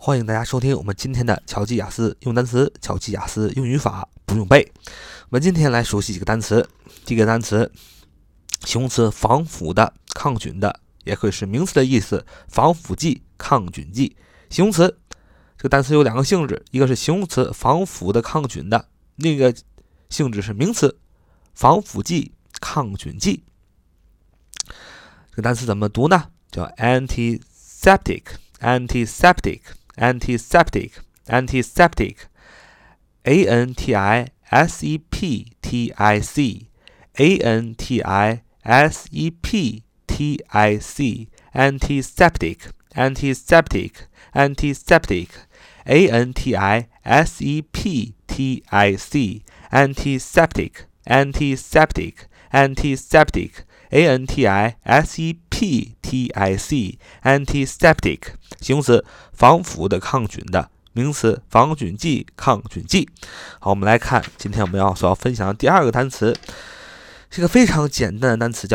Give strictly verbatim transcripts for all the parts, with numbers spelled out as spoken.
欢迎大家收听我们今天的巧记雅思用单词，巧记雅思用语法不用背。我们今天来熟悉几个单词。第一个单词，形容词防腐的、抗菌的，也可以是名词的意思，防腐剂、抗菌剂。形容词这个单词有两个性质，一个是形容词防腐的、抗菌的，另一个性质是名词防腐剂、抗菌剂。这个单词怎么读呢？叫 antiseptic。antiseptic，antiseptic，a n t i s e p t i c，a n t i s e p t i c，antiseptic，antiseptic，antiseptic，a n t i s e p t i c，antiseptic，antiseptic，antiseptic，a n t i s e p t i c，antiseptic， 形容词防腐的、抗菌的，名词防菌剂、抗菌剂。好，我们来看今天我们要所要分享的第二个单词，是个非常简单的单词，叫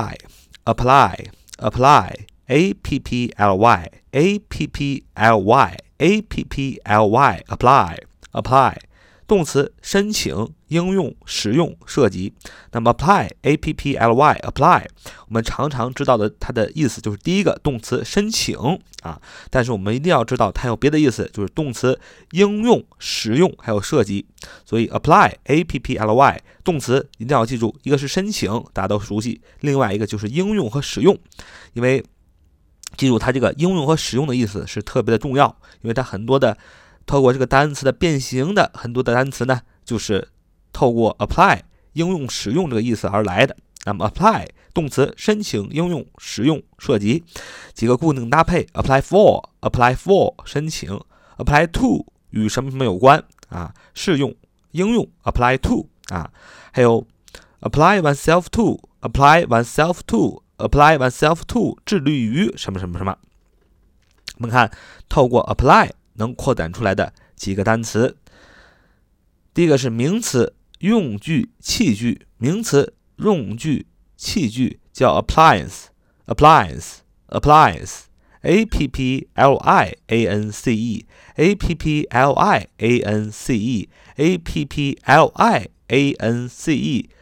apply。apply，apply，a p p l y，a p p l y，a p p l y，apply，apply，动词申请、应用、使用、涉及。那么 apply a p p l y apply 我们常常知道的它的意思就是第一个动词申请啊，但是我们一定要知道它有别的意思，就是动词应用、使用还有涉及。所以 apply a p p l y 动词一定要记住，一个是申请，大家都熟悉，另外一个就是应用和使用。因为记住它这个应用和使用的意思是特别的重要，因为它很多的透过这个单词的变形的很多的单词呢，就是透过 apply 应用使用这个意思而来的。那么 apply 动词申请、应用、使用、涉及。几个固定搭配 apply for apply for 申请， apply to 与什么什么有关啊，适用、应用 apply to 啊，还有 apply oneself to apply oneself to apply oneself to 致力于什么什么什么。我们看透过 apply能扩展出来的几个单词。第一个是名词用具、器具，名词用具、器具叫 appliance，appliance，appliance，a p p l i a n c e，a p p l i a n c e，a p p l i a n c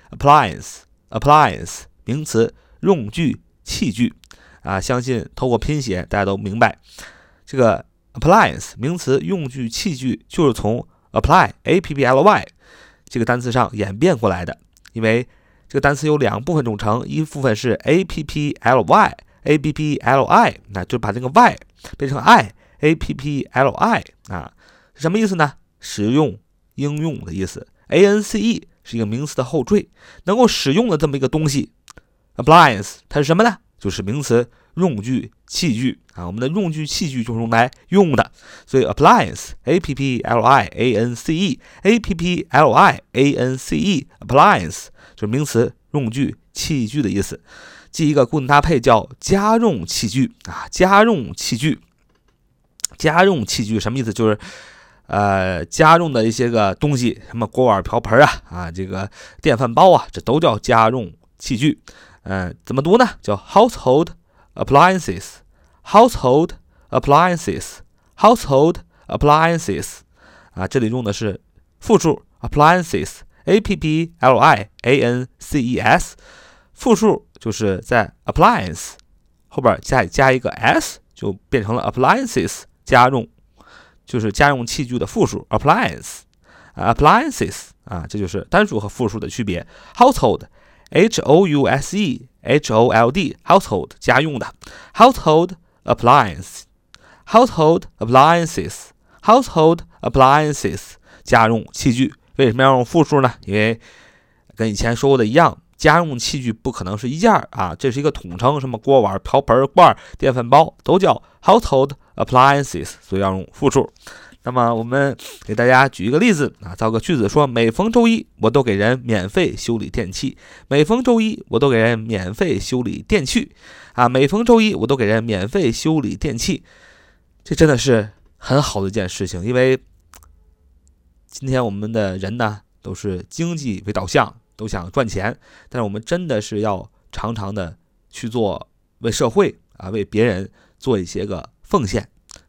e，appliance，appliance， 名词用具、器具啊，相信透过拼写大家都明白，这个appliance 名词用具器具就是从 apply a p p l y 这个单词上演变过来的。因为这个单词有两部分组成，一部分是 a p p l y a p p l i， 那就把这个 y 变成 i a p p l i 啊，是什么意思呢？使用、应用的意思。 a n c e 是一个名词的后缀，能够使用的这么一个东西 appliance 它是什么呢？就是名词用具、器具啊，我们的用具、器具就是用来用的，所以 appliance a p p l i a n c e a p p l i a n c e appliance 就是名词用具、器具的意思。记一个固定搭配叫家用器具啊，家用器具，家用器具什么意思？就是呃家用的一些个东西，什么锅碗瓢盆啊啊，这个电饭煲啊，这都叫家用器具。呃，怎么读呢？叫 household appliances household appliances household appliances 啊，这里用的是复数 appliances a p p l i a n c e s， 复数就是在 appliance 后边加加一个 s 就变成了 appliances， 家用就是家用器具的复数 appliance、啊、appliances 啊，这就是单数和复数的区别。 household H O U S E H O L D household 家用的 household appliance household appliances household appliances 家用器具。为什么要用复数呢？因为跟以前说过的一样，家用器具不可能是一件啊，这是一个统称，什么锅碗瓢盆罐电饭煲都叫 household appliances， 所以要用复数。那么我们给大家举一个例子啊，造个句子说，每逢周一我都给人免费修理电器，每逢周一我都给人免费修理电器啊，每逢周一我都给人免费修理电器。这真的是很好的一件事情，因为今天我们的人呢都是经济为导向，都想赚钱，但是我们真的是要常常的去做为社会啊为别人做一些个奉献。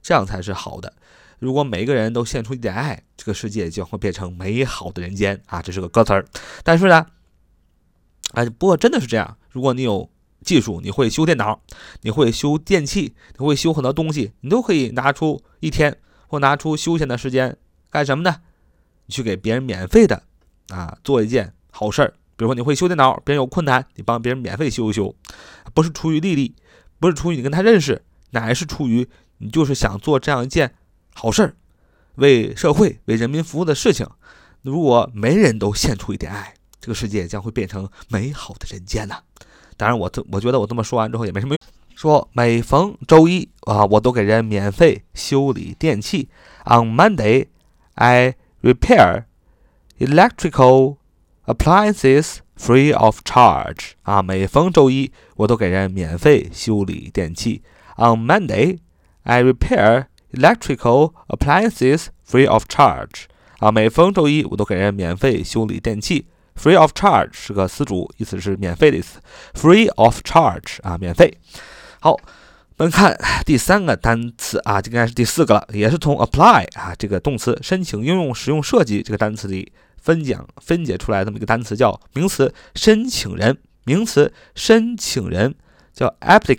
这样才是好的。如果每个人都献出一点爱，这个世界将会变成美好的人间啊！这是个歌词儿。但是呢，哎，不过真的是这样。如果你有技术，你会修电脑，你会修电器，你会修很多东西，你都可以拿出一天或拿出休闲的时间干什么呢？你去给别人免费的啊做一件好事儿。比如说你会修电脑，别人有困难，你帮别人免费修一修，不是出于利益，不是出于你跟他认识，乃是出于你就是想做这样一件好事儿，为社会为人民服务的事情。如果每人都献出一点爱，这个世界将会变成美好的人间呐、啊。当然我我觉得我这么说完之后也没什么用。说每逢周一啊，我都给人免费修理电器。On Monday, I repair electrical appliances free of charge. 啊，每逢周一我都给人免费修理电器。On Monday, I repair electrical appliances free of charge. 啊，每逢周一我都给人免费修理电器。Free of charge 是个词组，意思是免费的意思。Free of charge 啊，免费。好，我们看第三个单词啊，这应该是第四个了，也是从 apply 啊这个动词申请、应用、使用、设计这个单词里分讲分解出来这么一个单词，叫名词申请人。名词申请人叫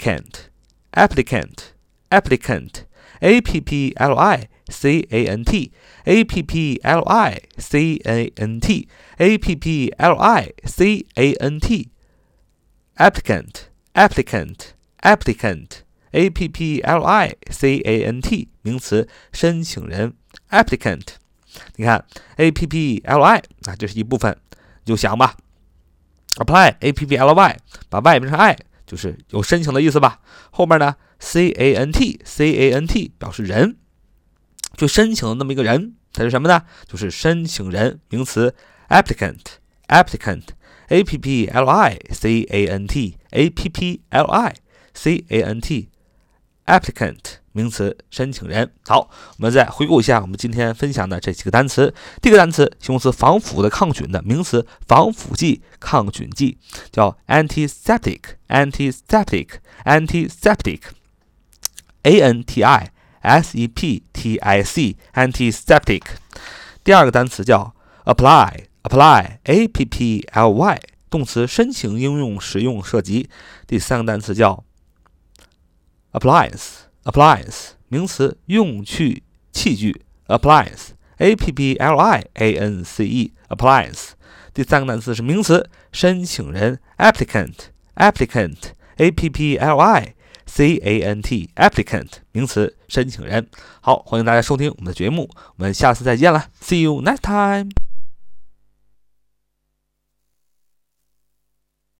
applicant，applicant，applicant。A P P L I C A N T A P P L I C A N T A P P L I C A N T Applicant Applicant Applicant A P P L I C A N T 名词申请人 Applicant。 你看 A P P L I 啊，这是一部分，你就想吧 Apply A P P L Y 把 Y 变成 I， 就是有申请的意思吧。后面呢C A N T C A N T 表示人，就申请的那么一个人，它是什么呢？就是申请人，名词 applicant applicant A P P L I C A N T A P P L I C A N T applicant 名词申请人。好，我们再回顾一下我们今天分享的这几个单词。第一个单词形容词防腐的、抗菌的，名词防腐剂、抗菌剂，叫 antiseptic antiseptic antiseptic A N T I S E P T I C antiseptic。 第二个单词叫 apply apply A P P L Y 动词申请、应用、使用、设计。第三个单词叫 appliance appliance 名词用具、器具 appliance A P P L I A N C E appliance。 第三个单词是名词申请人 applicant applicant A P P L I C A N T applicant 名词申请人。好，欢迎大家收听我们的节目，我们下次再见了 See you next time。